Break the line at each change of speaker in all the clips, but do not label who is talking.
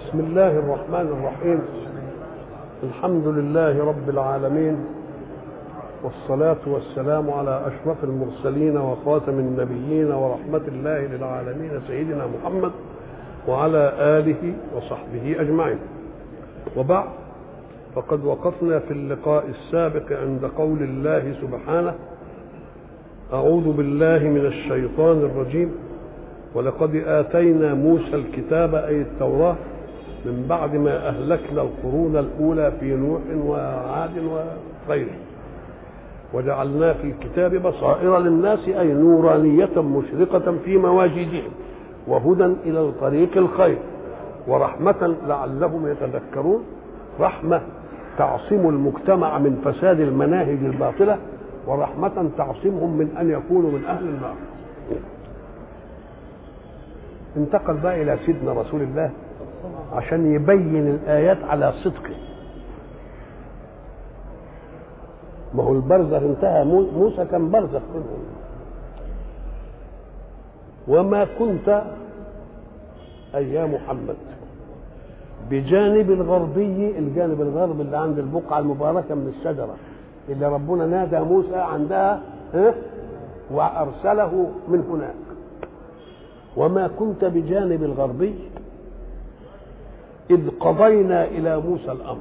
بسم الله الرحمن الرحيم. الحمد لله رب العالمين، والصلاة والسلام على أشرف المرسلين وخاتم النبيين ورحمة الله للعالمين سيدنا محمد وعلى آله وصحبه أجمعين. وبعد، فقد وقفنا في اللقاء السابق عند قول الله سبحانه: أعوذ بالله من الشيطان الرجيم، ولقد آتينا موسى الكتاب أي التوراة من بعد ما أهلكنا القرون الأولى في نوح وعاد وغيره، وجعلنا في الكتاب بصائر للناس أي نورانية مشرقة في مواجدهم، وهدى إلى طريق الخير، ورحمة لعلهم يتذكرون. رحمة تعصم المجتمع من فساد المناهج الباطلة، ورحمة تعصمهم من أن يكونوا من أهل النار. انتقل بقى إلى سيدنا رسول الله عشان يبين الآيات على صدقه. ما هو البرزخ انتهى، موسى كان برزخ منهم. وما كنت أي يا محمد بجانب الغربي، الجانب الغربي اللي عند البقعة المباركة من الشجرة اللي ربنا نادى موسى عندها وأرسله من هناك. وما كنت بجانب الغربي إذ قضينا إلى موسى الأمر.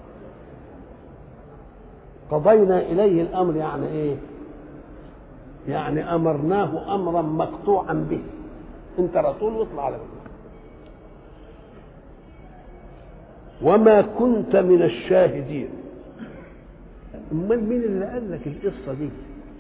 قضينا إليه الأمر يعني إيه؟ يعني أمرناه أمرا مقطوعا به. أنت رسول واطلع على بيه. وما كنت من الشاهدين. أمال مين اللي قال لك القصة دي؟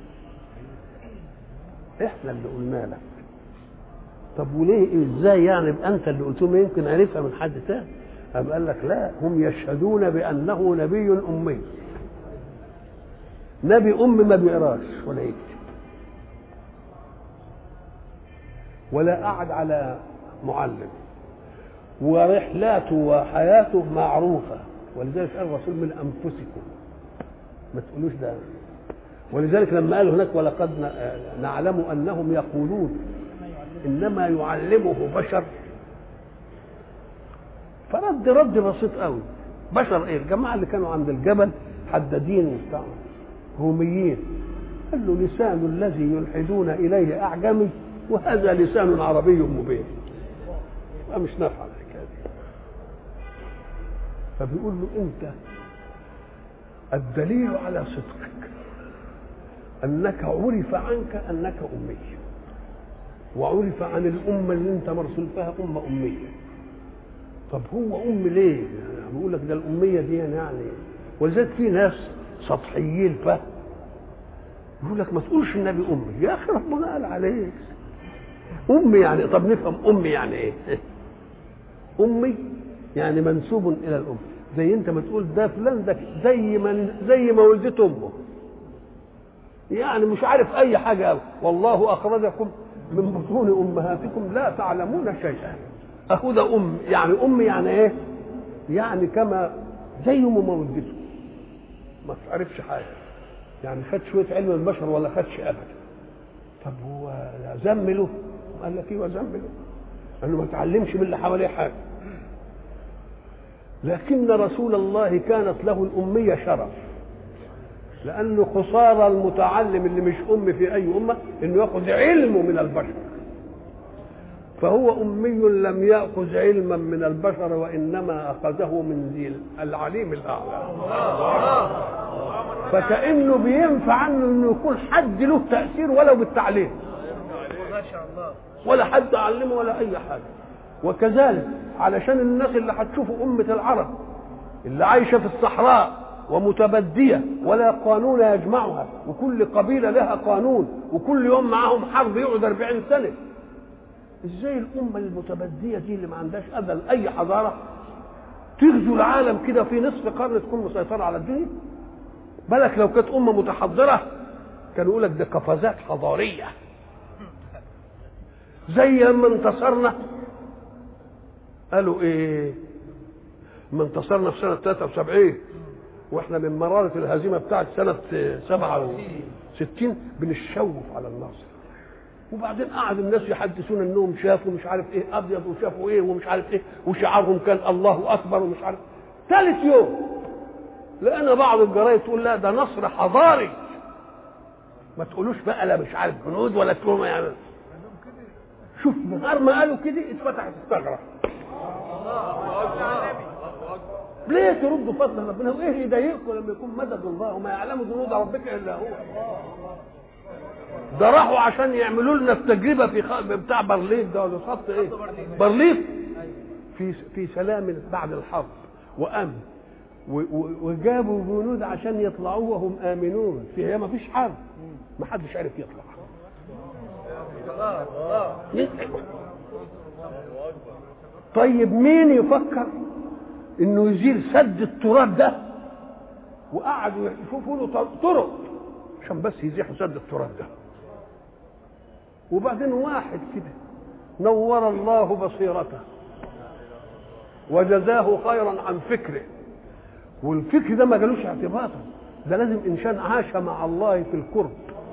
إحنا اللي قلنا لك. طب وليه ازاي يعني انت اللي قلت له؟ يمكن عرفها من حد تاني. قال لك لا، هم يشهدون بانه نبي امي. نبي ما بيقراش ولا يكتب ولا قعد على معلم، ورحلاته وحياته معروفه، ولذلك قال الرسول من انفسكم، ما تقولوش ده. ولذلك لما قال هناك ولقد نعلم انهم يقولون انما يعلمه بشر، فرد رد بسيط قوي. بشر ايه؟ الجماعه اللي كانوا عند الجبل حدادين وبتاع روميين، قال له لسان الذي يلحدون اليه اعجمي وهذا لسان عربي مبين، مش نافع الحكايه دي. فبيقول له انت الدليل على صدقك انك عرف عنك انك امي، وعرف عن الأمة اللي أنت مرسول فيها أمية. طب هو ليه؟ يعني بيقول لك ده الأمية دي يعني ولذلك في ناس سطحيين فهم يقول لك ما تقولش النبي أمي. يا أخي ربنا قال عليه أمي يعني. طب نفهم أمي يعني إيه؟ أمي يعني منسوب إلى الأم، زي أنت ما تقول ده فلان ده زي ما ولدت أمه، يعني مش عارف أي حاجة أوي. والله أخرجكم من بطون امهاتكم لا تعلمون شيئا. اخو ده يعني يعني ايه؟ يعني كما زي ما ولدته ما تعرفش حاجه، يعني خد شويه علم البشر ولا خدش ابدا. طب هو زمله؟ قال لك ايوه زمله، انه ما تعلمش من اللي حواليه حاجه. لكن رسول الله كانت له الاميه شرف، لأنه خسارة المتعلم اللي مش في أي أمة إنه يأخذ علمه من البشر. فهو أمي لم يأخذ علما من البشر، وإنما أخذه من ذي العليم الأعلى. فكأنه بينفع عنه إنه يكون حد له تأثير ولو بالتعليم، ولا حد علمه ولا أي حاجة. وكذلك علشان الناس اللي هتشوفوا أمة العرب اللي عايشة في الصحراء ومتبدية ولا قانون يجمعها، وكل قبيلة لها قانون، وكل يوم معاهم حرب يقعد 40 سنة. ازاي الأمة المتبدية دي اللي ما عندهاش أبدا أي حضارة تغزو العالم كده في نصف قرن تكون مسيطرة على الدنيا؟ بالك لو كانت أمة متحضرة كانوا يقول لك ده قفزات حضارية. زي لما انتصرنا قالوا ايه؟ لما انتصرنا في سنة 73 واحنا من مرارة الهزيمة بتاعت سنة 67 بنشوف على الناصر. وبعدين قعد الناس يحدثون انهم شافوا مش عارف ايه ابيض وشافوا ايه ومش عارف ايه وشعارهم كان الله اكبر ومش عارف. ثالث يوم لقينا بعض الجرايد تقول لا ده نصر حضاري، ما تقولوش بقى لا مش عارف جنود ولا تقولوا يعني. شوف نهار ما قالوا كده اتفتحت الثغره. ليه تردوا فضل ربنا؟ وايه يضايقكم لما يكون مدد الله وما يعلم جنود ربك الا هو؟ ده راحوا عشان يعملوا لنا التجربه في بتاع برليف ده ولا خط ايه؟ برليف في سلام بعد الحرب وامن وجابوا جنود عشان يطلعوا وهم امنون فيها ما فيش حرب، ما حدش عارف يطلع. طيب مين يفكر انه يزيل سد التراب ده؟ وقعدوا يشوفوا له طرق عشان بس يزيحوا سد التراب ده. وبعدين واحد كده نور الله بصيرته وجزاه خيرا عن فكره، والفكر ده ما جالوش اعتباطا، ده لازم انسان عاش مع الله في القرب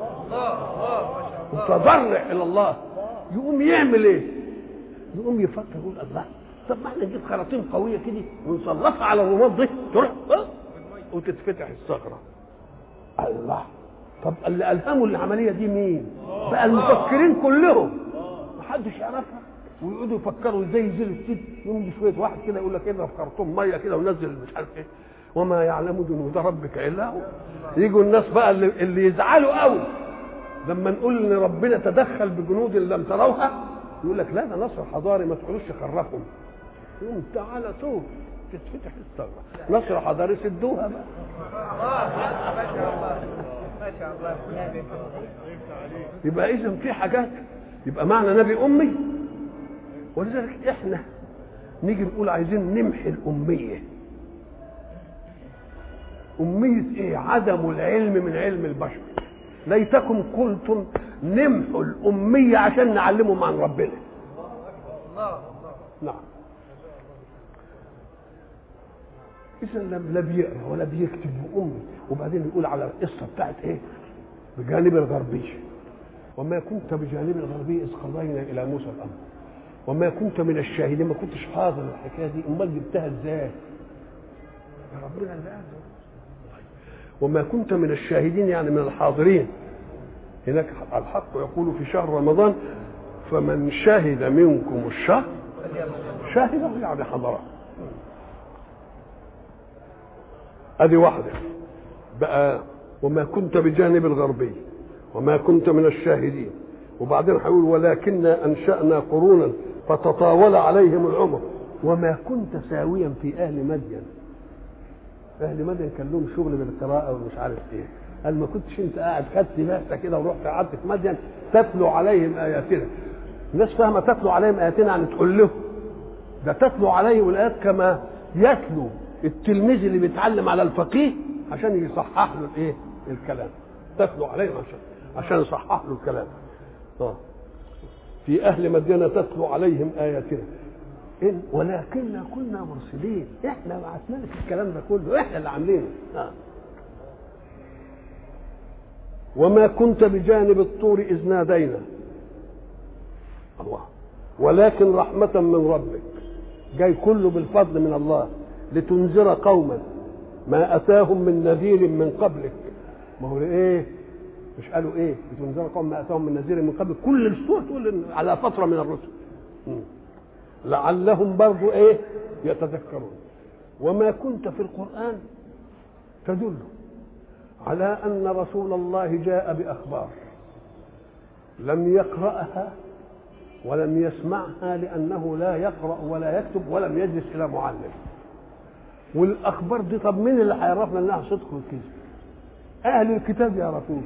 وتضرع الى الله، يقوم يعمل ايه؟ يقوم يفكر يقول الله طب ما احنا نجيب خراطيم قويه كده ونسلطها على الرماد دي تروح وتتفتح الثغره. الله، طب اللي الهموا العمليه دي مين؟ بقى المفكرين كلهم محدش يعرفها، ويقعدوا يفكروا ازاي يزيلوا السد. يقوم شويه واحد كده يقول لك ايه في خرطوم ميه كده ونزل مش عارف ايه، وما يعلم جنود ربك الا هو. يجوا الناس بقى اللي يزعلوا قوي لما نقول ان ربنا تدخل بجنود لم تروها، يقول لك لا ده نصر حضاري ما تقولوش خرفهم. يقوم تعالى طول تتفتح الثغره، نصر حضاري سدوها بقى. ما شاء الله. يبقى اذا في حاجات، يبقى معنى نبي امي. ولذلك احنا نيجي نقول عايزين نمحي الاميه. اميه ايه؟ عدم العلم من علم البشر. ليتكم قلتم نمحوا الاميه عشان نعلمهم عن ربنا. نعم. اذا لا بيقرا ولا بيكتب امي. وبعدين يقول على القصه بتاعت ايه؟ بجانب الغربي، وما كنت بجانب الغربي اذ قضينا الى موسى الامر وما كنت من الشاهدين. ما كنتش حاضر الحكايه دي، امال جبتها ازاي؟ يا ربنا اللي قال. وما كنت من الشاهدين يعني من الحاضرين. هناك الحق يقول في شهر رمضان فمن شهد منكم الشهر شاهده يعني حضره. ادي واحده بقى. وما كنت بجانب الغربي وما كنت من الشاهدين. وبعدين هيقول ولكننا انشانا قرونا فتطاول عليهم العمر وما كنت ساويا في اهل مدين. اهل مدين كان لهم شغل بالقراءه ومش عارف ايه. قال ما كنتش انت قاعد خدت بعثه كده ورحت قعدت في مدين تتلو عليهم اياتنا. الناس فاهمه تتلو عليهم اياتنا يعني تقول له ده تتلو عليهم الايات كما يتلو التلميذ اللي بيتعلم على الفقيه عشان يصحح له الايه؟ الكلام. تتلو عليهم عشان يصحح له الكلام. في اهل مدينه تتلو عليهم اياتنا إن ولكننا كنا مرسلين. احنا بعثنا لك الكلام ده كله، احنا اللي عاملينه. وما كنت بجانب الطور اذ نادينا الله ولكن رحمه من ربك. جاي كله بالفضل من الله لتنذر قوما ما اتاهم من نذير من قبلك. ما هو ايه؟ مش قالوا ايه؟ لتنذر قوم ما اتاهم من نذير من قبلك. كل السور تقول على فتره من الرسل لعلهم برضو ايه؟ يتذكرون. وما كنت في القرآن تدل على ان رسول الله جاء باخبار لم يقرأها ولم يسمعها لانه لا يقرأ ولا يكتب ولم يجلس الى معلم. والاخبار دي طب مين اللي هيعرفنا انها صدق وكذب؟ اهل الكتاب يعرفوها.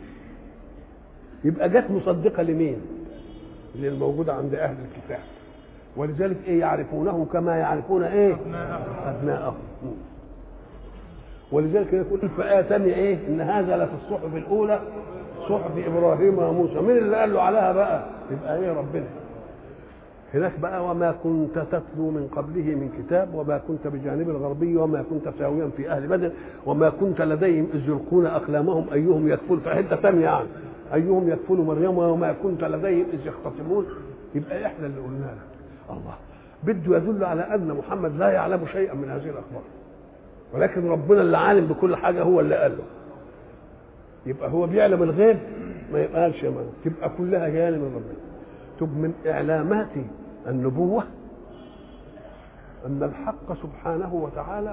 يبقى جت مصدقه لمين؟ للموجوده عند اهل الكتاب. ولذلك ايه؟ يعرفونه كما يعرفون ايه؟ ابناءهم. ولذلك يقول في آية ثانية ايه؟ ان هذا لفي الصحف الاولى صحف ابراهيم وموسى. مين اللي قال له عليها بقى؟ يبقى ايه؟ ربنا. هناك بقى وما كنت تتلو من قبله من كتاب وما كنت بجانب الغربي وما كنت ساويا في اهل بدر وما كنت لديهم اذ يلقون اقلامهم ايهم يكفل. في حته ثانيه يعني ايهم يكفل مريم وما كنت لديهم اذ يختصمون، يبقى احنا اللي قلنا لك. الله بده يدل على ان محمد لا يعلم شيئا من هذه الاخبار، ولكن ربنا اللي عالم بكل حاجه هو اللي قال له. يبقى هو بيعلم الغيب ما يبقاش يا مان، تبقى كلها جايه من ربنا. تبقى من اعلامات النبوه ان الحق سبحانه وتعالى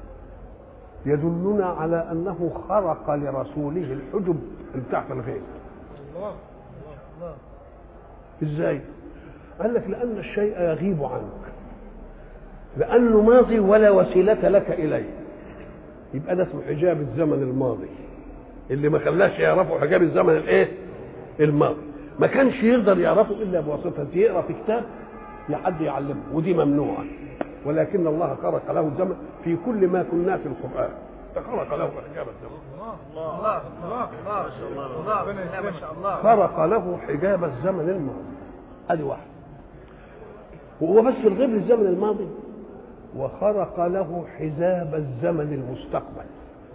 يدلنا على انه خرق لرسوله الحجب بتاعت الغيب. الله الله. ازاي؟ قال لك لان الشيء يغيب عنك، لانه ماضي ولا وسيله لك اليه، يبقى ده اسمه حجاب الزمن الماضي، اللي ما خلاش يعرفوا حجاب الزمن الايه؟ الماضي. ما كانش يقدر يعرفه الا بواسطه يقرا في كتاب لحد يعلمه، ودي ممنوعه. ولكن الله خرق له الزمن في كل ما كنا في القران، خرق له حجاب الزمن. الله الله الله ما شاء الله ما شاء الله. خرق له حجاب الزمن الماضي، ادي واحد. وهو بس الغيب للزمن الماضي، وخرق له حجاب الزمن المستقبل،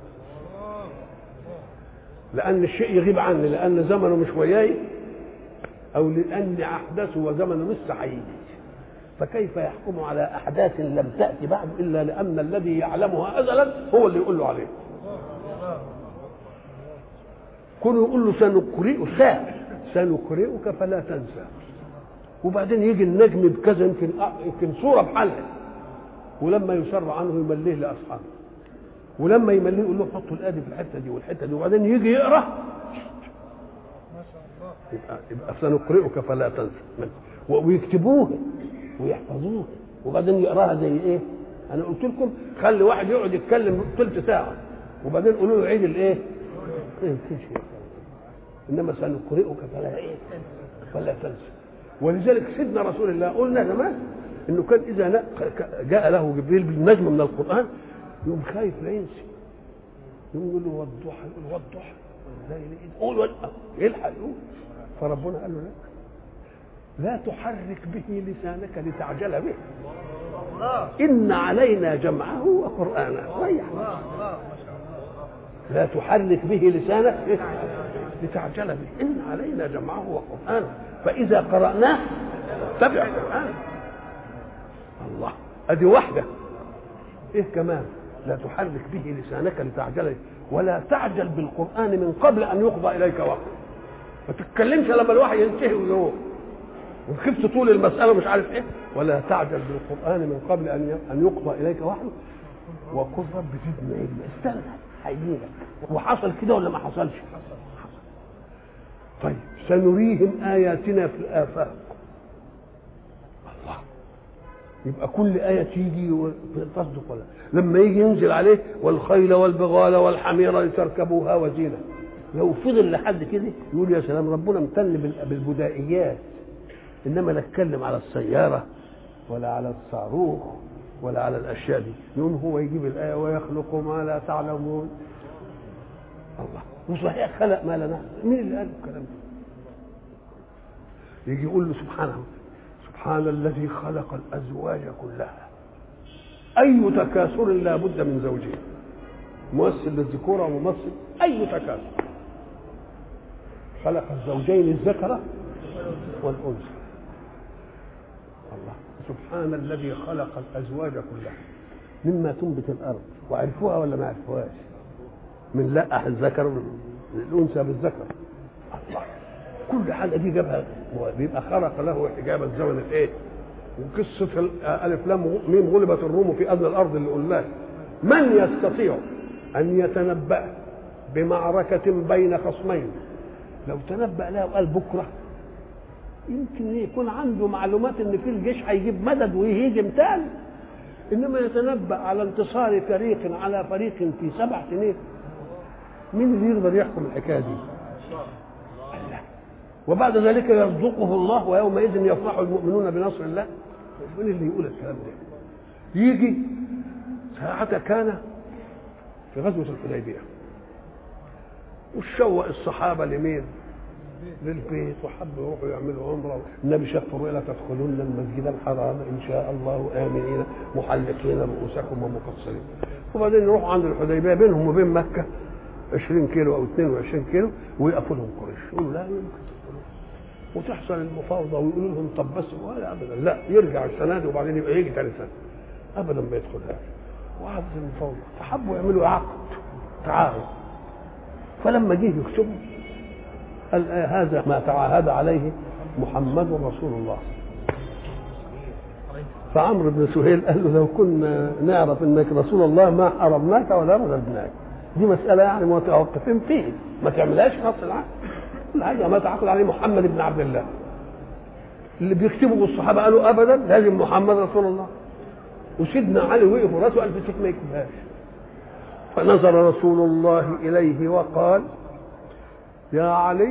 لأن الشيء يغيب عني، لأن زمنه مش وياي، أو لأن أحداثه وزمنه لسه هيجي. فكيف يحكم على أحداث لم تأتي بعد إلا لأن الذي يعلمها أزلا هو اللي يقول له عليه. كونه يقول له سنقرئك فلا تنسى، وبعدين يجي النجم بكذا، يمكن صورة بحالها، ولما يسر عنه يمليه لأصحابه، ولما يمليه يقول له حطوا الآدي في الحتة دي والحتة دي، وبعدين يجي يقرأ يبقى سنقرئك فلا تنسى، ويكتبوه ويحفظوه، وبعدين يقراها زي ايه؟ انا قلت لكم خلي واحد يقعد يتكلم ثلث ساعه وبعدين قولوا له عيد الايه؟ انما سنقرئك فلا تنسى. ولذلك سيدنا رسول الله قلنا زمان انه كان اذا جاء له جبريل بالنجم من القران يوم خايف لا ينسي، يقول له والضحى، يقول والضحى قول يلحق يقول. فربنا قال له لا تحرك به لسانك لتعجل به، إن علينا جمعه وقرآنه. لا تحرك به لسانك لتعجل به، إن علينا جمعه وقرآنه فإذا قرأناه اتبع قرآنه. الله، أدي واحدة. إيه كمان؟ لا تحرك به لسانك لتعجل به ولا تعجل بالقرآن من قبل أن يقضى إليك وحيه. ما تتكلمش لما الوحي ينتهي ويروح وخفت طول المسألة مش عارف إيه. ولا تعجل بالقرآن من قبل أن يقضى إليك وحيه وقل رب زدني علما. استنى هيجيلك. وحصل كده ولا ما حصلش؟ حصل. طيب سنريهم آياتنا في الآفاق. الله، يبقى كل آية تيجي تصدق ولا لما يجي ينزل عليه والخيل والبغال والحمير لتركبوها وزينة. لو فضل لحد كده يقول يا سلام ربنا امتن بالبدائيات، انما لا اتكلم على السياره ولا على الصاروخ ولا على الاشياء دي. يوم هو يجيب الايه ويخلق ما لا تعلمون. الله، وصحيح خلق ما لا نعلم. مين اللي قال الكلام ده؟ يجي يقول له سبحانه سبحان الذي خلق الازواج كلها. اي تكاثر لا بد من زوجين، ممثل للذكوره وممثل اي تكاثر. خلق الزوجين الذكر والانثى. الله، سبحان الذي خلق الازواج كلها مما تنبت الارض. وعرفوها ولا ما عرفوهاش؟ من لقح الذكر الانثى بالذكر. الله، كل حاجه دي جابها بيبقى خلق له حجاب الزمن الايه؟ وقصه الف لام ميم غلبت الروم في ادنى الارض اللي قلناها. من يستطيع ان يتنبأ بمعركه بين خصمين لو تنبأ لها وقال بكره يمكن يكون عنده معلومات ان في الجيش هيجيب مدد ويهيجم تاني، انما يتنبأ على انتصار فريق على فريق في 7 سنين. مين اللي يقدر يحكم الحكايه دي؟ الله. وبعد ذلك يرزقه الله ويومئذ يفرح المؤمنون بنصر الله. مين اللي يقول الكلام ده؟ يجي ساعة كان في غزوة الحديبية وشوق الصحابة لمين؟ للبيت، وحبوا يروحوا يعملوا عمره. النبي شاف الرؤيا لا تدخلن المسجد الحرام ان شاء الله امنين محلقين رؤوسكم ومقصرين. وبعدين يروحوا عند الحديبيه بينهم وبين مكه 20 كيلو او 22 كيلو ويقفوا لهم قريش، يقولوا لا يمكن تدخلوا، وتحصل المفاوضه ويقولوا لهم طب بس، ولا ابدا، لا يرجع السنه دي وبعدين يبقى يجي ثاني سنه، ابدا ما يدخلهاش. وقعدت المفاوضه، فحبوا يعملوا عقد تعاهد، فلما جه يكتبوا قال هذا ما تعاهد عليه محمد رسول الله. فعمرو بن سهيل قال له لو كنا نعرف انك رسول الله ما حرمناك ولا رددناك، دي مساله يعني متوقفين فيه، ما تعملهاش نص العقد، كل حاجه ما تعاقد عليه محمد بن عبد الله. اللي بيكتبوا الصحابه قالوا ابدا لازم محمد رسول الله، وسيدنا علي وقف وراسه قال في ما يكتبهاش. فنظر رسول الله اليه وقال يا علي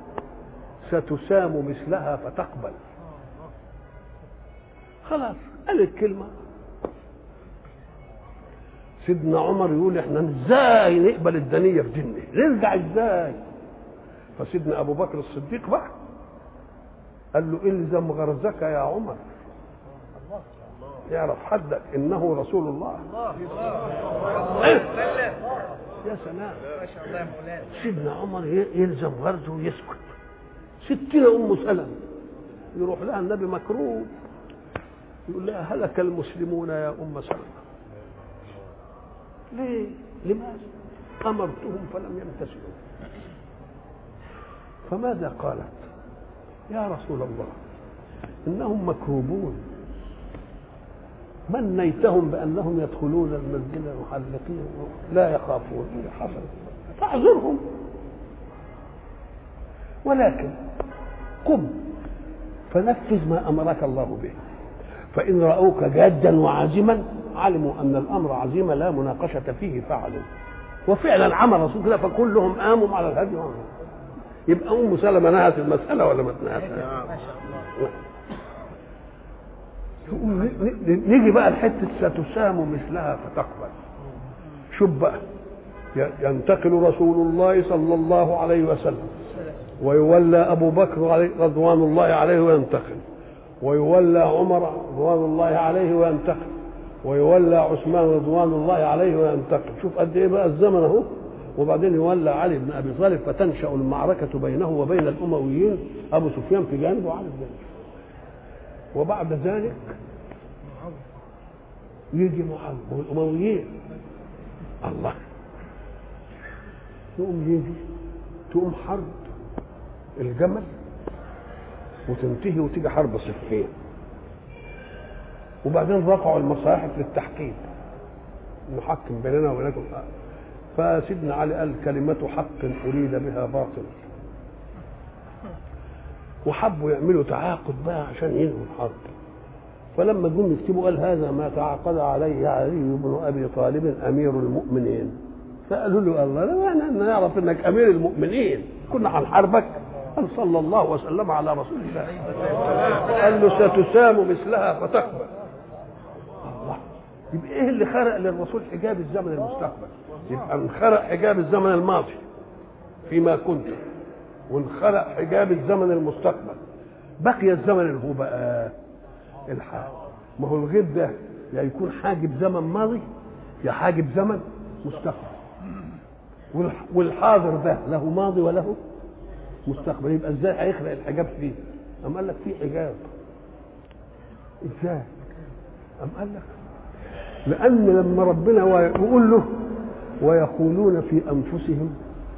ستسام مثلها فتقبل. خلاص قال الكلمه. سيدنا عمر يقول احنا ازاي نقبل الدنيه في ديننا، نرجع ازاي؟ فسيدنا ابو بكر الصديق بقى قال له الزم غرزك يا عمر، يعرف حدك انه رسول الله. يا سلام، ما شاء الله يا مولانا. سيدنا عمر يلزم غرزه ويسكت. ستنا ام سلمة يروح لها النبي مكروب، يقول لها هلك المسلمون يا ام سلمة. ليه؟ لماذا؟ امرتهم فلم يمتثلوا. فماذا قالت؟ يا رسول الله انهم مكروبون، منيتهم بانهم يدخلون المسجد محلقين لا يخافون حصل، فاعذرهم، ولكن قم فنفذ ما امرك الله به، فان راوك جادا وعازما علموا ان الامر عزيم لا مناقشه فيه فعلوا. وفعلا عمل رسول كده، فكلهم قاموا على الهدي وعملوا. يبقى ام سلمة نهت المساله ولا ما تنهتها؟ ما شاء الله. نيجي بقى لحته ستسام مثلها فتقبل. شوف بقى، ينتقل رسول الله صلى الله عليه وسلم ويولى ابو بكر رضوان الله عليه وينتقل، ويولى عمر رضوان الله عليه وينتقل، ويولى عثمان رضوان الله عليه وينتقل. شوف قد ايه بقى الزمن اهو. وبعدين يولى علي بن ابي طالب، فتنشا المعركه بينه وبين الامويين، ابو سفيان في جانب وعلي في جانب. وبعد ذلك يجي معاويه والامويين، الله، تقوم حرب الجمل وتنتهي وتيجي حرب صفين. وبعدين رفعوا المصاحف للتحكيم، نحكم بيننا وبينكم. فسيدنا علي قال كلمة حق أريد بها باطل، وحبوا يعملوا تعاقد بقى عشان ينهوا الحرب. فلما جم يكتبوا قال هذا ما تعاقد عليه علي بن أبي طالب أمير المؤمنين. فقالوا له الله لا معنى أن نعرف أنك أمير المؤمنين، كنا هنحاربك؟ قال صلى الله وسلم على رسول الله. قال له ستسام مثلها فتقبل. الله، يبقى ايه اللي خرق للرسول حجاب الزمن المستقبل؟ يبقى انخرق حجاب الزمن الماضي فيما كنت، وانخرق حجاب الزمن المستقبل، بقي الزمن اللي هو بقى الحال. ما هو الغيب ده يا يكون حاجب زمن ماضي يا حاجب زمن مستقبل، والحاضر ده له ماضي وله مستقبل. يبقى ازاي هيخلق الحجاب فيه؟ أم قال لك فيه حجاب. ازاي؟ أم قال لك لأن لما ربنا يقول له ويقولون في أنفسهم،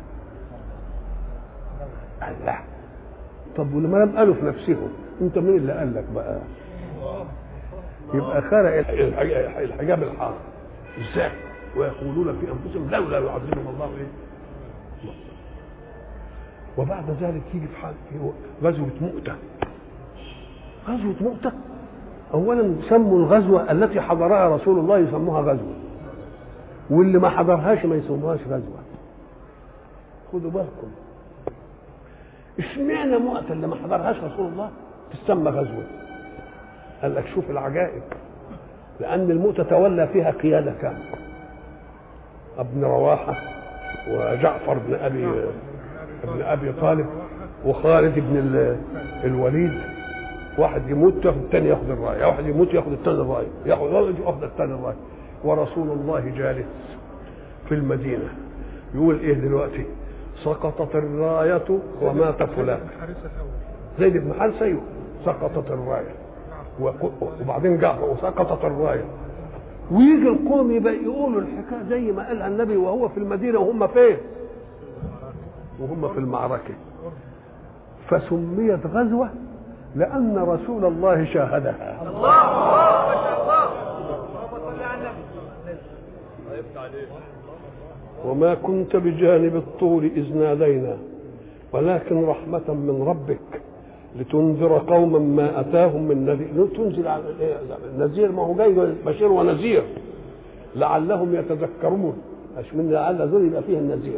الله، طب ولما لم قالوا في نفسهم، انت مين اللي قال لك بقى؟ يبقى خرق الحجاب الحاضر. ازاي؟ ويقولون في أنفسهم لولا يعذبهم الله ايه؟ وبعد ذلك يجي في غزوة مؤتة. غزوة مؤتة أولا سموا الغزوة التي حضرها رسول الله يسموها غزوة، واللي ما حضرهاش ما يسموهاش غزوة. خدوا بالكم، اشمعنى مؤتة اللي ما حضرهاش رسول الله تسمى غزوة؟ قال لك شوف العجائب، لأن المؤتة تولى فيها قيادة كاملة، ابن رواحة وجعفر بن أبي طالب وخالد بن الوليد. واحد يموت ياخد الثاني ياخد الرايه، واحد يموت ياخد الثاني الرايه، ياخد الثاني الرايه. ورسول الله جالس في المدينه يقول ايه دلوقتي؟ سقطت الراية ومات فلان. زيد بن حارثة سقطت الراية وبعدين جاء وسقطت الراية، ويجي القوم يبقى يقولوا الحكاية زي ما قالها النبي وهو في المدينة وهم فين؟ وهم في المعركة. فسميت غزوة لأن رسول الله شاهدها. وما كنت بجانب الطور إذ نادينا ولكن رحمة من ربك لتنذر قوما ما أتاهم من نذير. تنزل على النذير، ما هو جاي بشير ونذير لعلهم يتذكرون، مش من لعل ذول يبقى فيه النذير.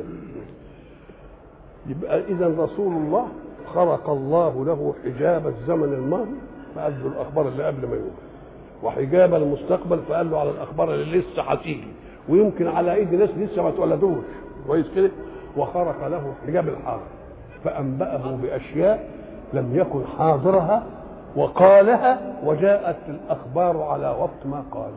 يبقى إذا رسول الله خرق الله له حجاب الزمن الماضي فقال له الأخبار اللي قبل ما يقول، وحجاب المستقبل فقال له على الأخبار اللي لسه هتيجي ويمكن على ايدي ناس لسه ما اتولدوش كويس كده. وخرق له حجاب الحاضر فأنبأه بأشياء لم يكن حاضرها وقالها، وجاءت الأخبار على وقت ما قال.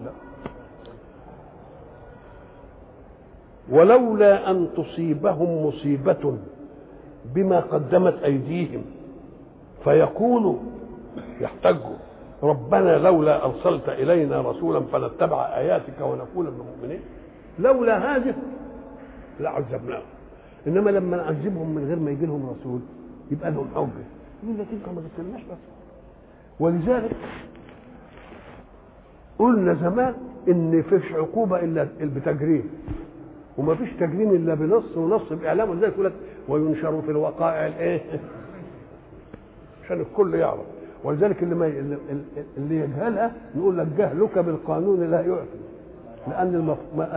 ولولا أن تصيبهم مصيبة بما قدمت أيديهم فيقولوا يحتجوا ربنا لولا أرسلت إلينا رسولا فنتبع آياتك ونكون من المؤمنين، لولا هذه لعذبناهم. إنما لما نعذبهم من غير ما يجي لهم رسول يبقى لهم حجة، يقول لك أنت ما جبتلناش رسول. ولذلك قلنا زمان إن فيش عقوبة إلا بتجريم، وما فيش تجريم إلا بنص ونص بإعلام. ولذلك يقول لك وينشر في الوقائع الإيه عشان الكل يعرف. ولذلك اللي يجهلها نقول لك جهلك بالقانون لا يعفي، لان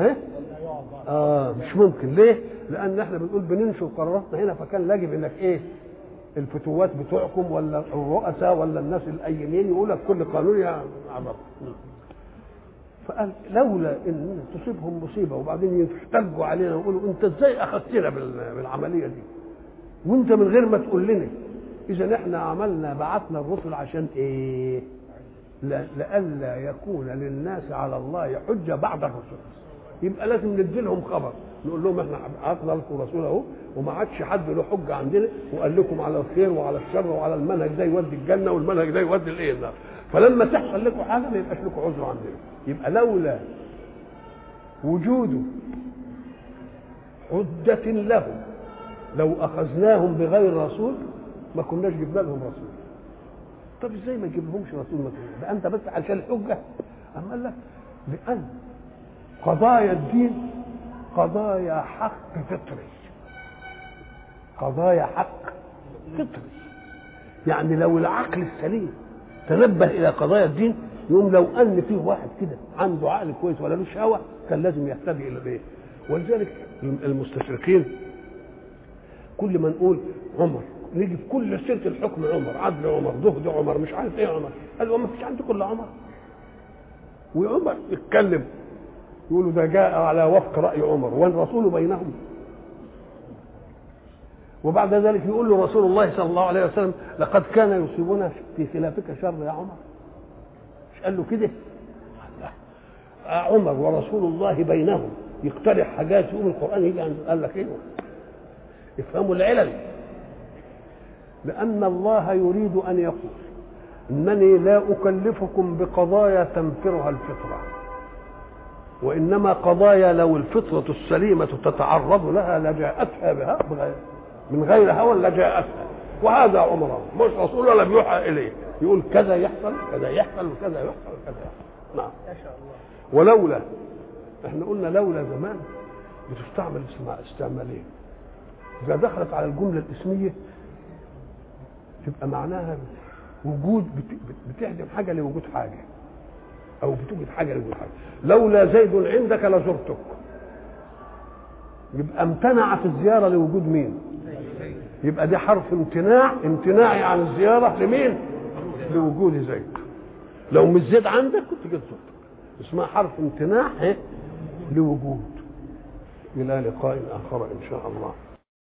مش ممكن. ليه؟ لان احنا بنقول بننشر قراراتنا هنا، فكان يجب انك ايه الفتوات بتوعكم ولا الرؤساء ولا الناس الايمين يقول لك كل قانون يعرف. فقال لولا ان تصيبهم مصيبه وبعدين يحتجوا علينا ويقولوا انت ازاي اخذتنا بالعمليه دي وانت من غير ما تقول لنا. إذا احنا عملنا بعثنا الرسل عشان ايه؟ لئلا يكون للناس على الله حجة بعد الرسل. يبقى لازم ندي لهم خبر، نقول لهم احنا بعثنا لكم رسول اهو وما عادش حد له حجة عندنا، وقال لكم على الخير وعلى الشر وعلى المنهج ده يودي الجنة والمنهج ده يودي الايه النار. فلما تحصل لكم حاجة ما يبقاش لكم عذر عندنا. يبقى لولا وجود حجة لهم لو أخذناهم بغير رسول ما كناش جبنا لهم رسول. طب ازاي ما نجيب لهمش رسول؟ ما ده انت بس عشان الحجه. اما قال لك لان قضايا الدين قضايا حق فطري، قضايا حق فطري. يعني لو العقل السليم تنبه الى قضايا الدين يقوم لو ان فيه واحد كده عنده عقل كويس ولا له شهوه كان لازم يهتدي الى ايه. ولذلك المستشرقين كل ما نقول عمر نيجي في كل سيره الحكم عمر، عدل عمر، زهد عمر، مش عارف ايه عمر، قالوا ما فيش عندكم الا عمر. وعمر يتكلم يقولوا ده جاء على وفق راي عمر والرسول بينهم. وبعد ذلك يقول له رسول الله صلى الله عليه وسلم لقد كان يصيبنا في خلافك شر يا عمر. مش قال له كده؟ عمر ورسول الله بينهم يقترح حاجات يقوم القران يجي قال لك ايه؟ افهموا العلل. لأن الله يريد أن يقول إنني لا أكلفكم بقضايا تنفرها الفطرة، وإنما قضايا لو الفطرة السليمة تتعرض لها لجاءتها بها من غير هوى لجاءتها. وهذا عمره مش رسول ولا بيوحى إليه يقول كذا يحصل كذا يحصل وكذا يحصل وكذا يحصل. نعم ما شاء الله. ولولا احنا قلنا لولا زمان بتستعمل استعمالين. إذا دخلت على الجملة الاسمية تبقى معناها وجود بتهدم حاجه لوجود حاجه او بتوجد حاجه لوجود حاجه. لولا زيد عندك لزرتك، يبقى امتنعت الزياره لوجود مين؟ يبقى دي حرف امتناعي عن الزياره لمين؟ لوجود زيد. لو مش زيد عندك كنت جيت زرتك. اسمها حرف امتناع لوجود. الى لقاء اخر ان شاء الله.